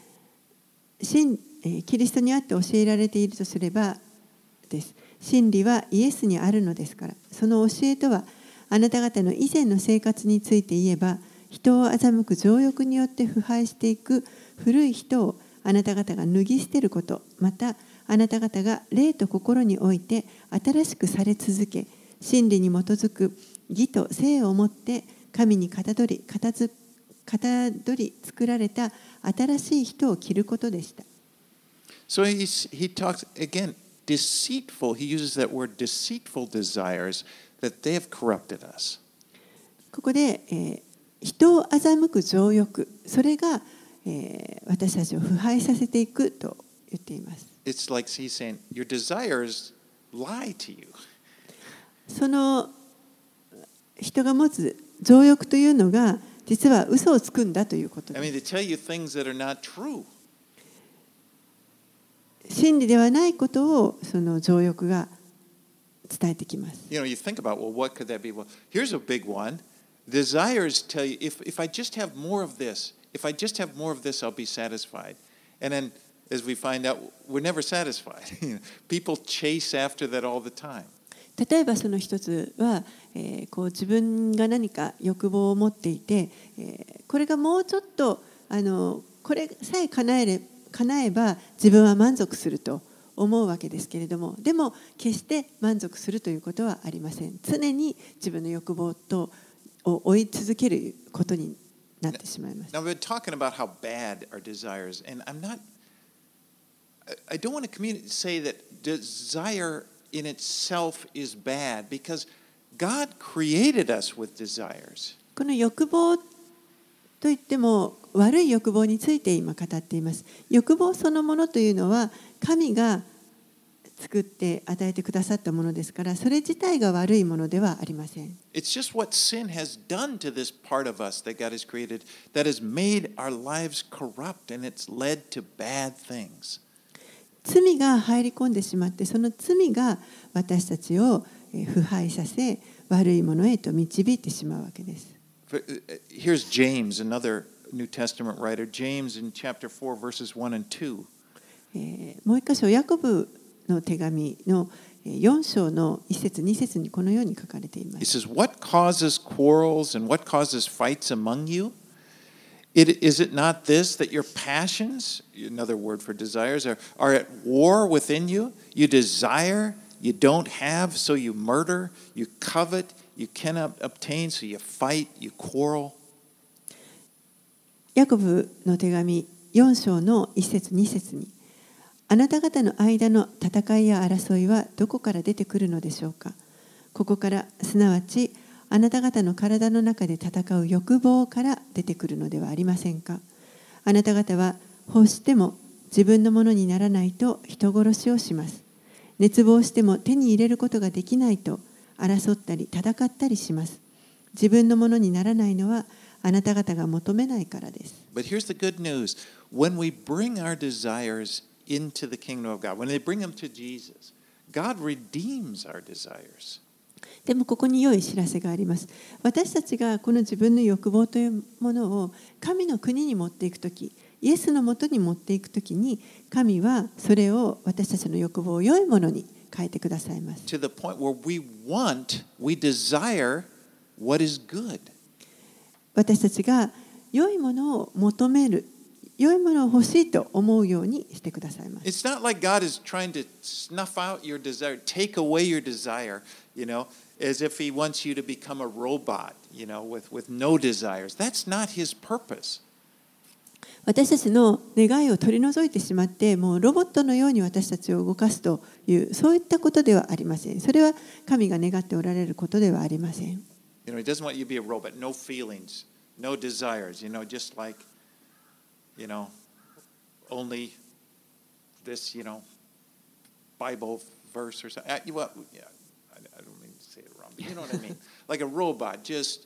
キリストにあって教えられているとすればです。真理はイエスにあるのですから、その教えとはあなた方の以前の生活について言えば、人を欺く情欲によって腐敗していく古い人をあなた方が脱ぎ捨てること、またあなた方が霊と心において新しくされ続け、真理に基づく義と聖をもって神にかたどり作られた新しい人を着ることでした。 So he talks again, deceitful. He uses that word deceitful desires that they have corrupted us. ここで、人を欺く情欲、それが、私たちを腐敗させていくと言っています。 It's like he's saying, your desires lie to you. その人が持つ情欲というのが実は嘘をつくんだということです。 I mean, they tell you things that are not true. 真理ではないことをその情欲が伝えてきます。 You know, you think about, well, what could that be? Well, here's a big one. Desires tell you, if I just have more of this, if I just have more of this, I'll be satisfied. And then, as we find out, we're never satisfied. People chase after that all the time. 例えばその一つは、こう自分が何か欲望を持っていて、これがもうちょっとこれさえ叶えば自分は満足すると思うわけですけれども、でも決して満足するということはありません。常に自分の欲望を追い続けることになってしまいます。 Now, we've been talking about how bad our desires, and I don't want to say that desire in itself is bad, because God created us with desires. この欲望といっても悪い欲望について今語っています。欲望そのものというのは神が作って与えてくださったものですから、それ自体が悪いものではありません。 It's just what sin has done to this part of us that God has created that has made our lives corrupt, and it's led to bad things. 罪が入り込んでしまって、その罪が私たちを腐敗させ、悪いものへと導いてしまうわけです。 Here's James, another New Testament writer. James in chapter 4, verses 1 and 2. もう一箇所、ヤコブの手紙の4章の1節2節にこのように書かれています。 He says, What causes quarrels and what causes fights among you? Is it not this, that your passions, another word for desires, are at war within you? You desire, you don't have, so you murder. You covet, you cannot obtain, so you fight, you quarrel. ヤコブの手紙4章の1節2節に、あなた方の間の戦いや争いはどこから出てくるのでしょうか。ここから、すなわちあなた方の体の中で戦う欲望から出てくるのではありませんか。あなた方は欲しても自分のものにならないと人殺しをします。熱望しても手に入れることができないと争ったり戦ったりします。自分のものにならないのはあなた方が求めないからです。 But here's the good news. When we bring our desires into the kingdom of God, when they bring them to Jesus, God redeems our desires. でもここに良い知らせがあります。私たちがこの自分の欲望というものを神の国に持っていくとき、 イエスのもとに持っていくときに、神はそれを私たちの欲望を良いものに変えてくださいます。 To the point where we desire what is good. 私たちが良いものを求める、良いものを欲しいと思うようにしてくださいます。 It's not like God is trying to snuff out your desire, take away your desire, as if He wants you to become a robot, with no desires. That's not His purpose. 私たちの願いを取り除いてしまって、もうロボットのように私たちを動かすという、そういったことではありません。それは神が願っておられることではありません。 He doesn't want you to be a robot, no feelings, no desires, just like, only this, Bible verse or something. I don't mean to say it wrong, but you know what I mean. Like a robot,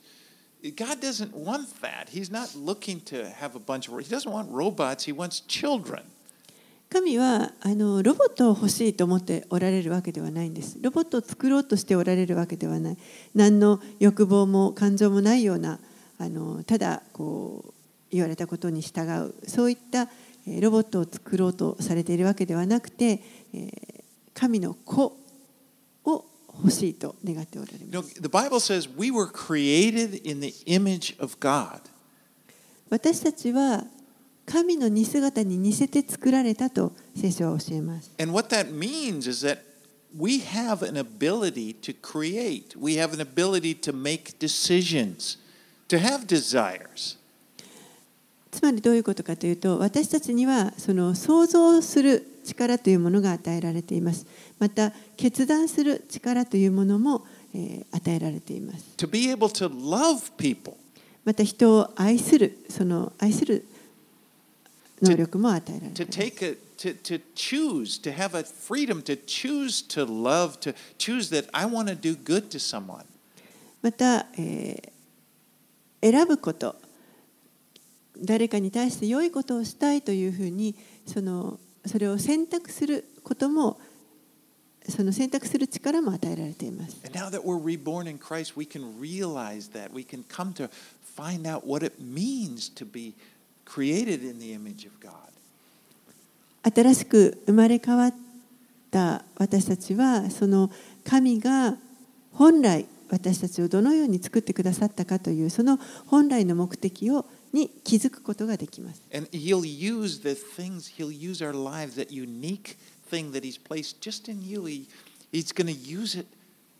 God doesn't want that. He's not looking to have a bunch of, He doesn't want robots, He wants children. 神はロボットを欲しいと思っておられるわけではないんです。ロボットを作ろうとしておられるわけではない。何の欲望も感情もないような、ただ言われたことに従う、そういったロボットを作ろうとされているわけではなくて、神の子を欲しいと願っておられます。 The Bible says we were created in the image of God. 私たちは神の似姿に似せて作られたと聖書は教えます。 And what that means is that we have an ability to create. We have an ability to make decisions, to have desires. つまりどういうことかというと、私たちにはその想像する力というものが与えられています。また決断する力というものも、与えられています。 To be able to love people. また人を愛する、その愛する能力も与えられています。 To choose, to have a freedom to choose to love, to choose that I want to do good to someone. また、選ぶこと、誰かに対して良いことをしたいというふうにそれを選択することも、その選択する力も与えられています。 And now that we're reborn in Christ, we can realize that. We can come to find out what it means to be created in the image of God. 新しく生まれ変わった私たちは、その神が本来私たちをどのように作ってくださったかという、その本来の目的に気づくことができます。 And He'll use the things, He'll use our lives, that unique thing that He's placed just in you. He's going to use it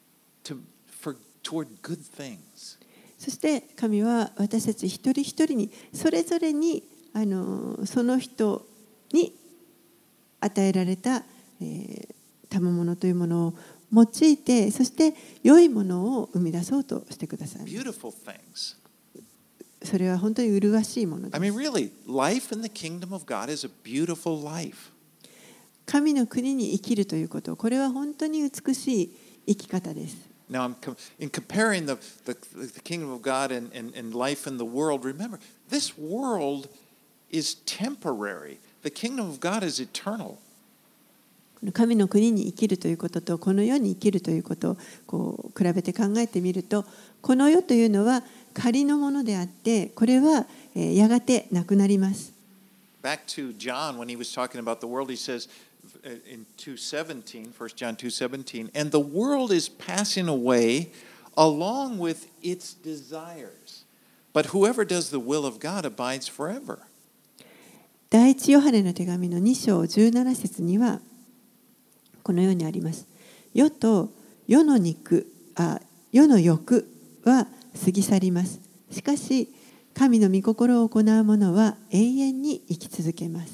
toward good things. そして神は私たち一人一人にそれぞれにその人に与えられた賜物というものを用いて、そして良いものを生み出そうとしてください。 Beautiful things. それは本当に麗しいものです。 I mean, really, life in the kingdom of God is a beautiful life. 神の国に生きるということ、これは本当に美しい生き方です。 Now, in comparing the kingdom of God and life in the world, remember, this world is temporary. The kingdom of God is eternal. 神の国に生きるということとこの世に生きるということを比べて考えてみると、この世というのは仮のものであって、これはやがてなくなります。 Back to John when he was talking about the world, he says in 2:17, 1 John 2:17, and the world is passing away along with its desires, but whoever does the will of God abides forever. 第一ヨハネの手紙の2章17節にはこのようにあります。世と世の欲は過ぎ去ります。しかし神の御心を行う者は永遠に生き続けます。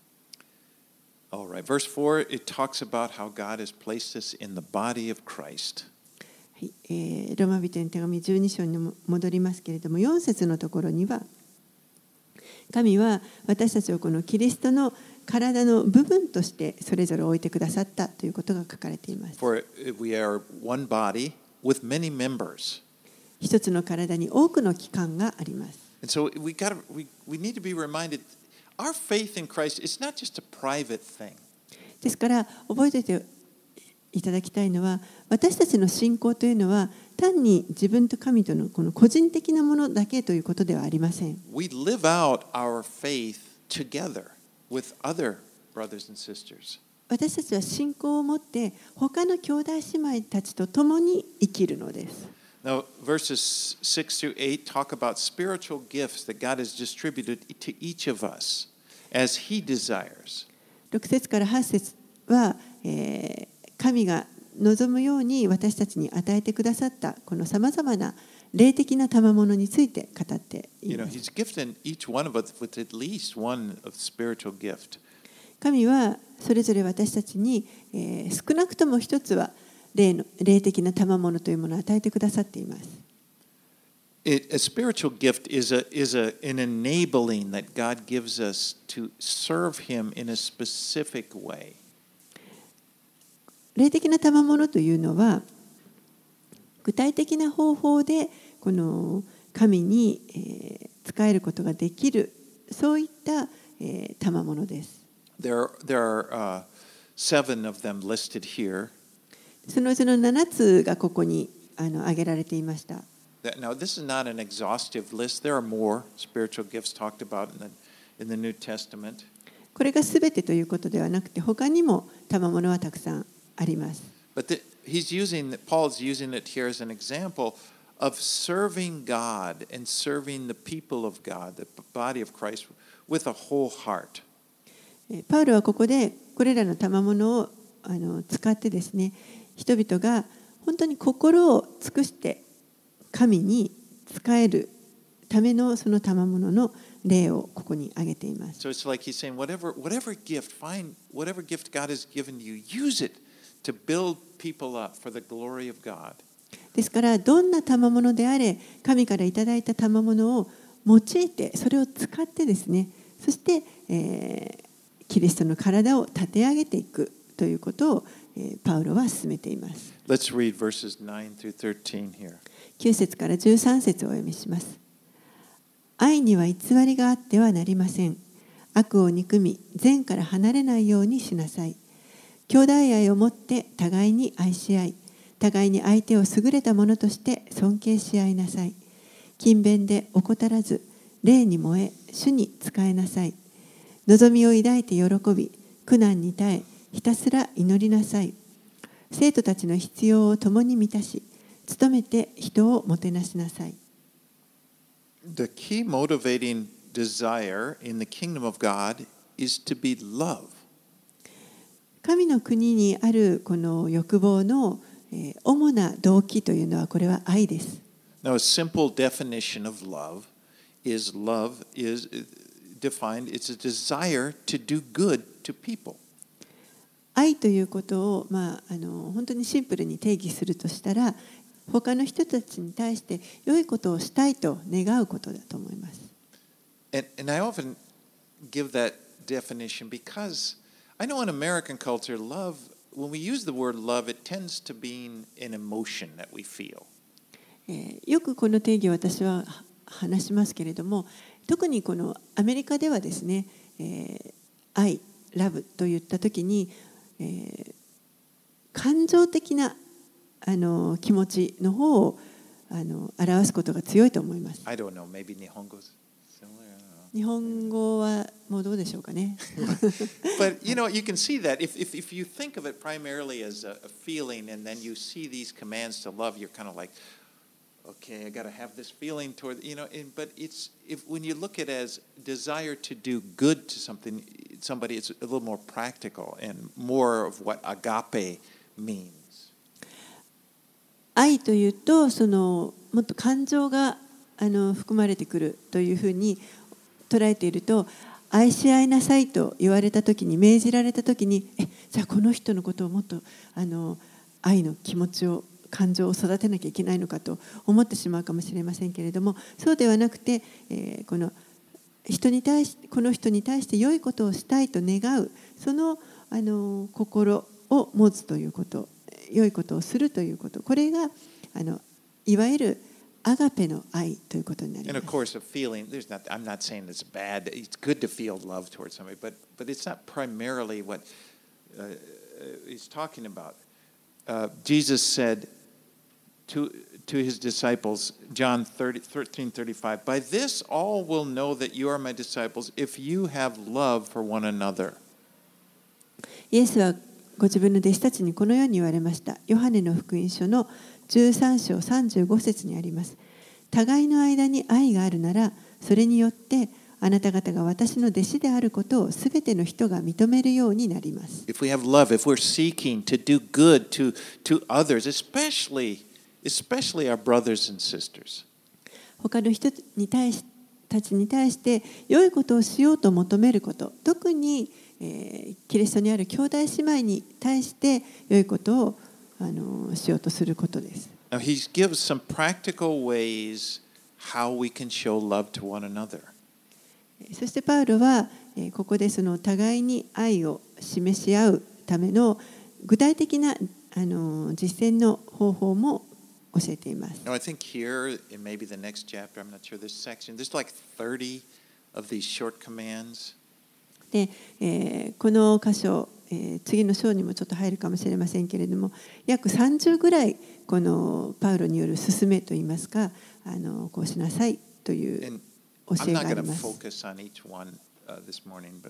All right, verse 4, it talks about how God has placed us in the body of Christ. はい、ローマ人の手紙12章に戻りますけれども、4節のところには神は私たちをこのキリストの体の部分としてそれぞれ置いてくださったということが書かれています。 For we are one body with many members. 一つの体に多くの器官があります。 And so we need to be reminded, our faith in Christ is not just a private thing. ですから覚えておいていただきたいのは、私たちの信仰というのは単に自分と神とのこの個人的なものだけということではありません。 We live out our faith together with other brothers and sisters. 私たちは信仰を持って他の兄弟姉妹たちと共に生きるのです。 Now, verses 6 through 8 talk about spiritual gifts that God has distributed to each of us as He desires. 6節から8節は、神が望むように私たちに与えてくださったこのさまざまな霊的な賜物について語っています。 He's gifted each one of us with at least one of spiritual gift. 神はそれぞれ私たちに、少なくとも一つは霊的な賜物というものを与えてくださっています。 A spiritual gift is an enabling that God gives us to serve Him in a specific way. 霊的な賜物というのは具体的な方法でこの神に仕えることができる、そういった賜物です。 There are 7 of them listed here. そのうちの7つがここに挙げられていました。 Now, this is not an exhaustive list. There are more spiritual gifts talked about in the New Testament. これがすべてということではなくて、他にも賜物はたくさんあります。 But Paul's using it here as an example of serving God and serving the people of God, the body of Christ, with a whole heart. パウロはここでこれらの賜物を使ってですね、人々が本当に心を尽くして神に仕えるためのその賜物の例をここに挙げています。 So it's like he's saying, whatever gift God has given you, use it to build people up for the glory of God. ですからどんな賜物であれ、神からいただいた賜物を用いて、それを使ってですね、そして、キリストの体を立て上げていくということを、パウロは進めています。 Let's read verses 9 through 13 here. 9節から13節をお読みします。愛には偽りがあってはなりません。悪を憎み、善から離れないようにしなさい。兄弟愛を持って互いに愛し合い、互いに相手を優れたものとして尊敬し合いなさい。勤勉で怠らず、霊に燃え、主に仕えなさい。望みを抱いて喜び、苦難に耐え、ひたすら祈りなさい。生徒たちの必要を共に満たし、努めて人をもてなしなさい。 The key motivating desire in the kingdom of God is to be love. 神の国にあるこの欲望の主な動機というのはこれは愛です。 Now, a simple definition of love is defined, it's a desire to do good to people. 愛ということを、本当にシンプルに定義するとしたら、他の人たちに対して良いことをしたいと願うことだと思います。 And I often give that definition because I know in American culture, love, when we use the word love, it tends to be an emotion that we feel. よくこの定義を私は話しますけれども、特にこのアメリカではですね、愛、ラブといったときに、感情的な気持ちの方を表すことが強いと思います。 I don't know, maybe 日本語日本語はもうどうでしょうかね。 But you can see that if you think of it primarily as a feeling and then you see these commands to love, you're kind of like, okay, I got to have this feeling toward, but when you look at it as desire to do good to somebody, it's a little more practical and more of what agape means. 愛というともっと感情が含まれてくるというふうに捉えていると、愛し合いなさいと言われたときに、命じられたときに、じゃあこの人のことをもっと愛の気持ちを、感情を育てなきゃいけないのかと思ってしまうかもしれませんけれども、そうではなくて、この人に対して良いことをしたいと願う、その心を持つということ、良いことをするということ、これがいわゆるアガペの愛ということになります。 And of course, a feeling, I'm not saying it's bad. It's good to feel love towards somebody, but it's not primarily what he's talking about. Jesus said, to his disciples, John 13:35, By this all will know that you are my disciples if you have love for one another. イエスはご自分の弟子たちにこのように言われました。ヨハネの福音書の13章35節にあります。互いの間に愛があるなら、それによってあなた方が私の弟子であることをすべての人が認めるようになります。 If we have love, if we're seeking to do good to others, especially our brothers and sisters. 他の人たちに対して良いことをしようと求めること、特に、キリストにある兄弟姉妹に対して良いことをしようとすることです。 Now, he gives some practical ways how we can show love to one another. そしてパウロはここでその互いに愛を示し合うための具体的な実践の方法も教えています。 Now, I think here, in maybe the next chapter, I'm not sure this section, there's like 30 of these short commands. で、この箇所、次の章にもちょっと入るかもしれませんけれども、約30ぐらいこのパウロによる勧めといいますか、こうしなさいという教えがあります。 I'm not going to focus on each one this morning,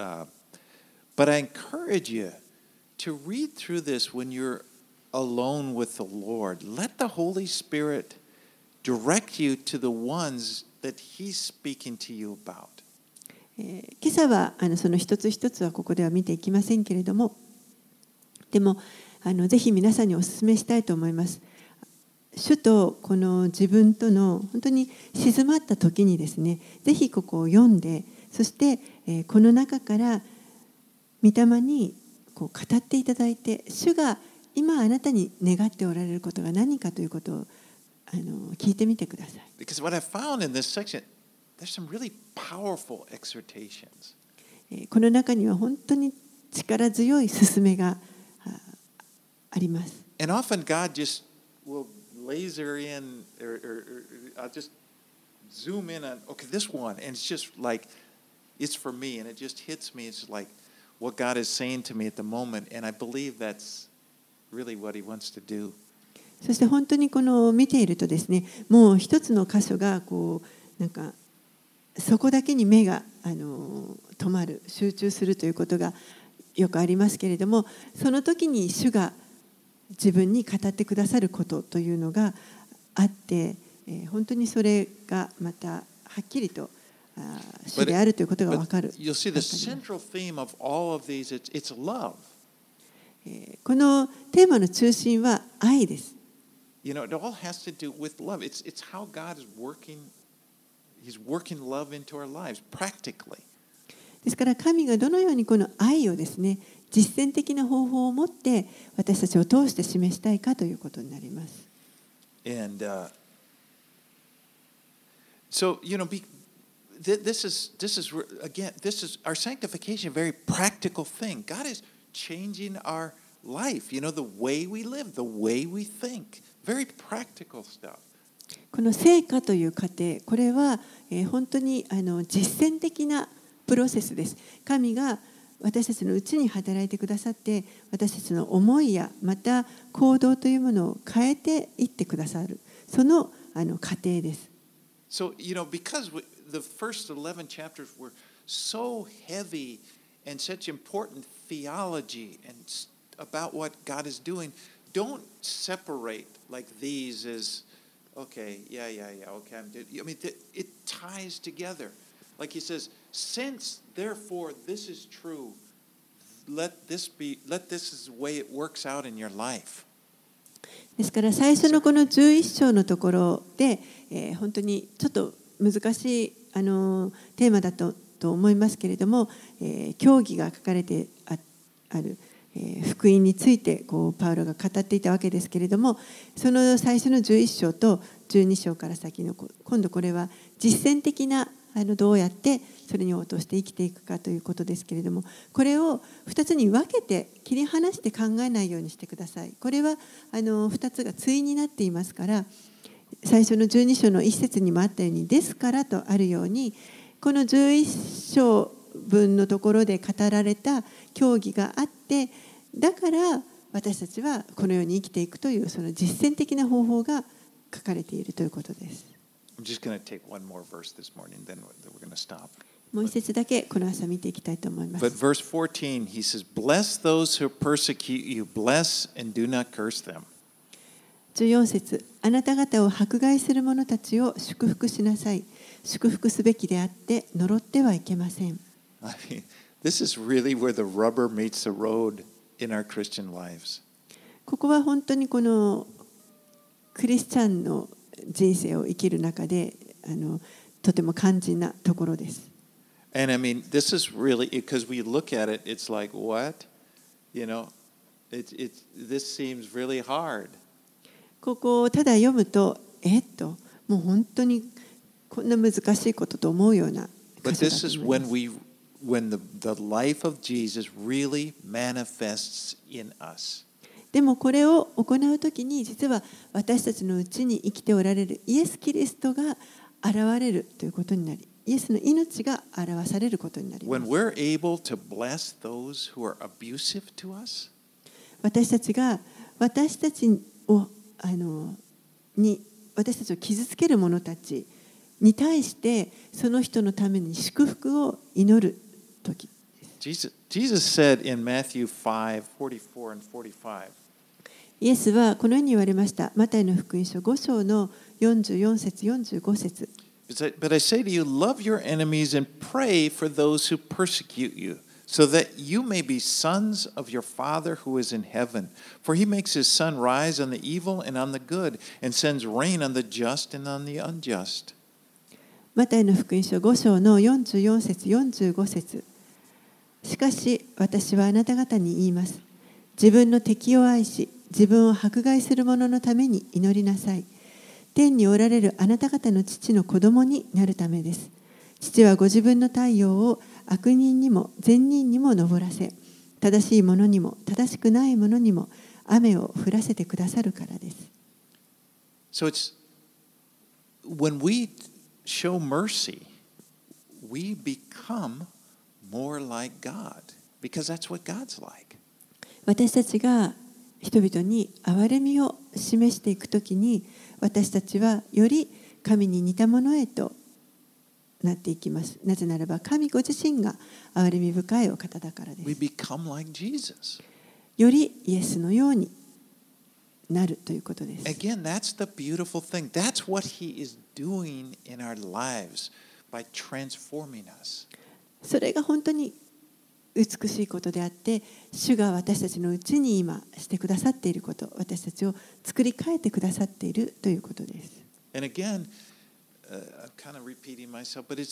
but I encourage you to read through this when you're alone with the Lord. Let the Holy Spirit direct you to the ones that He's speaking to you about. 今朝はその一つ一つはここでは見ていきませんけれども、でもぜひ皆さんにお勧めしたいと思います。主とこの自分との本当に静まった時にですね、ぜひここを読んで、そしてこの中から御霊にこう語っていただいて、主が今あなたに願っておられることが何かということを聞いてみてください。 Because what I found in this section, there's some really powerful exhortations. この中には本当に力強い勧めがあります。 And often God just will laser in, or I'll just zoom in on, okay, this one, and it's just like, it's for me, and it just hits me. It's like what God is saying to me at the moment, and I believe that's really what He wants to do. そして本当にこの見ているとですね、もう一つの箇所がこうなんかそこだけに目が止まる、集中するということがよくありますけれども、その時に主が自分に語ってくださることというのがあって、本当にそれがまたはっきりと主であるということが分かる。 You'll see the central theme of all of these, it's love. このテーマの中心は愛です。 You know, it all has to do with love. It's how God is working. He's working love into our lives practically. ですから神がどのようにこの愛をですね、実践的な方法を持って私たちを通して示したいかということになります。 And so, you know, this is again, this is our sanctification, a very practical thing. God is changing our life, you know, the way we live, the way we think. Very practical stuff. この成果という過程、これは本当に実践的なプロセスです。神が私たちのうちに働いてくださって、私たちの思いやまた行動というものを変えていってくださる、その過程です。 So, you know, because the first 11 chapters were so heavy and such important theology and about what God is doing, don't separate like these as, okay, yeah, okay, I mean, it ties together. Like he says, since therefore this is true, let this is the way it works out in your life. ですから最初のこの11章のところで、本当にちょっと難しいテーマだと思いますけれども、教義が書かれてある、福音についてこうパウロが語っていたわけですけれども、その最初の11章と12章から先の今度これは実践的などうやってそれに応答して生きていくかということですけれども、これを2つに分けて切り離して考えないようにしてください。これは2つが対になっていますから、最初の12章の1節にもあったように、ですからとあるように、この11章分のところで語られた教義があって、だから私たちはこのように生きていくというその実践的な方法が書かれているということです。 I'm just going to take one more verse this morning, then we're going to stop. もう一節だけこの朝見ていきたいと思いま But す。 verse 14, he says, Bless those who persecute you, bless and do not curse them. 14節、あなた方を迫害する者たちを祝福しなさい。祝福すべきであって呪ってはいけません。 I mean, this is really where the rubber meets the road in our Christian lives. ここは本当にこのクリスチャンの人生を生きる中でとても肝心なところです。 And I mean, this is really, because we look at it, it's like, what? You know, this seems really hard. ここをただ読むと、もう本当にこんな難しいことと思うような But 箇 this 所 is だと思います。 when the life of Jesus really manifests in us. でもこれを行うときに実は私たちのうちに生きておられるイエス・キリストが現れるということになり、イエスの命が表されることになりま When す。 we're able to bless those who are abusive to us, 私たちが私たちを傷つける者たちに対してその人のために祝福を祈るとき。 Jesus said in Matthew 5:44 and 45, イエスはこのように言われました。マタイの福音書5章の44節45節。 But I say to you, love your enemies and pray for those who persecute you, so that you may be sons of your Father who is in heaven. For he makes his sun rise on the evil and on the good, and sends rain on the just and on the unjust. マタイの福音書5章の44節45節。しかし私はあなた方に言います。自分の敵を愛し、自分を迫害する者のために祈りなさい。天におられるあなた方の父の子供になるためです。父はご自分の太陽を悪人にも善人にも昇らせ、正しい者にも正しくない者にも雨を降らせてくださるからです。 So it's when we show mercy, we become more like God, because that's what God's like. 私たちが人々に憐れみを示していくときに、私たちはより神に似たものへとなっていきます。なぜならば神ご自身が憐れみ深いお方だからで We す。 become like Jesus. よりイエスのようになるということです。 Again, that's the beautiful thing. That's what he is doing in our lives by transforming us. それが本当に美しいことであって、主が私たちのうちに今してくださっていること、私たちを作り変えてくださっているということです。 And again, I'm kind of repeating myself, but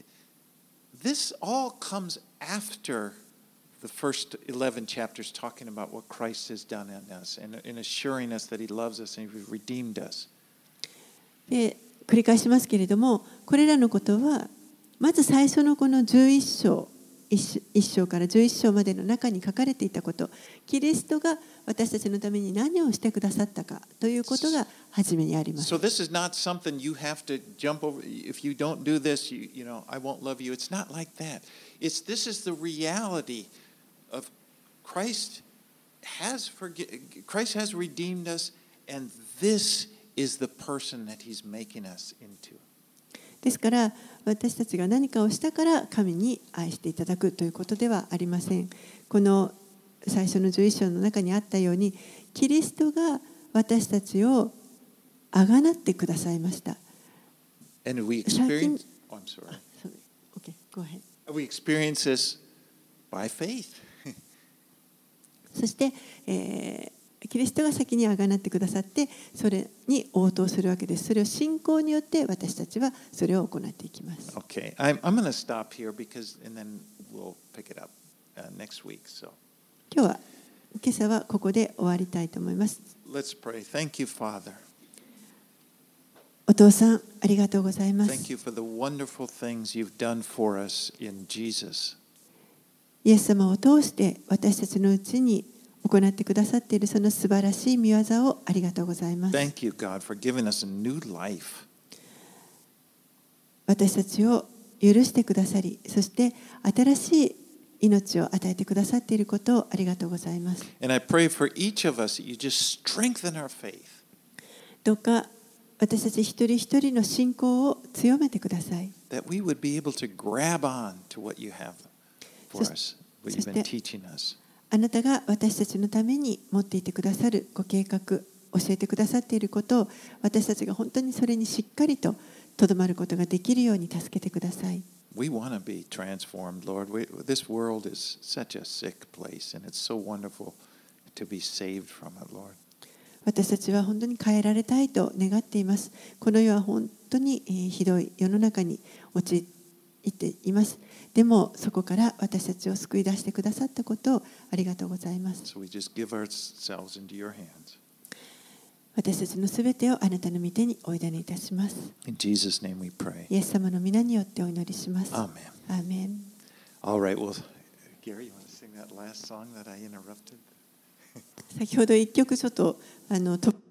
this all comes after the first 11 chapters talking about what Christ has done in us and assuring us that he loves us and he's redeemed us. で、繰り返しますけれども、これらのことはまず最初のこの11章1章から11章までの中に書かれていたこと、キリストが私たちのために何をしてくださったかということが初めにあります。 So this is not something you have to jump over. If you don't do this, you know, I won't love you. It's not like that. This is the reality of Christ has redeemed us, and this is the person that he's making us into. ですから私たちが何かをしたから神に愛していただくということではありません。この最初の11章の中にあったように、キリストが私たちをあがなってくださいました。 And we experience, I'm sorry. Okay, go ahead. We experience this by faith. そして、キリストが先にあがなってくださってそれに応答するわけです。それを信仰によって私たちはそれを行っていきます。 Okay, I'm going to stop here because, and then we'll pick it up next week. So 今朝はここで終わりたいと思います。 let's pray. Thank you, Father. お父さん、ありがとうございま Thank す。 you for the wonderful things you've done for us in Jesus. イエス様を通して私たちのうちに行ってくださっているその素晴らしい御業をありがとうございます。 Thank you, God, for giving us a new life. 私たちを許してくださり、そして新しい命を与えてくださっていることをありがとうございます。 And I pray for each of us that you just strengthen our faith. どうか私たち一人一人の信仰を強めてください。 That we would be able to grab on to what you have for us, what you've been teaching us. あなたが私たちのために持っていてくださるご計画、教えてくださっていることを私たちが本当にそれにしっかりととどまることができるように助けてください。 We want to be transformed, Lord. This world is such a sick place, and it's so wonderful to be saved from it, Lord. 私たちは本当に変えられたいと願っています。この世は本当にひどい世の中に陥っています。でもそこから私たちを救い出してくださったことをありがとうございます。 So we just give ourselves into your hands. 私たちのすべてをあなたの御手にお委ねいたします。 In Jesus' name we pray. イエス様の皆によってお祈りします。 Amen. アーメン。 All right. Well, Gary, you want to sing that last song that I interrupted? 先ほど一曲ちょっと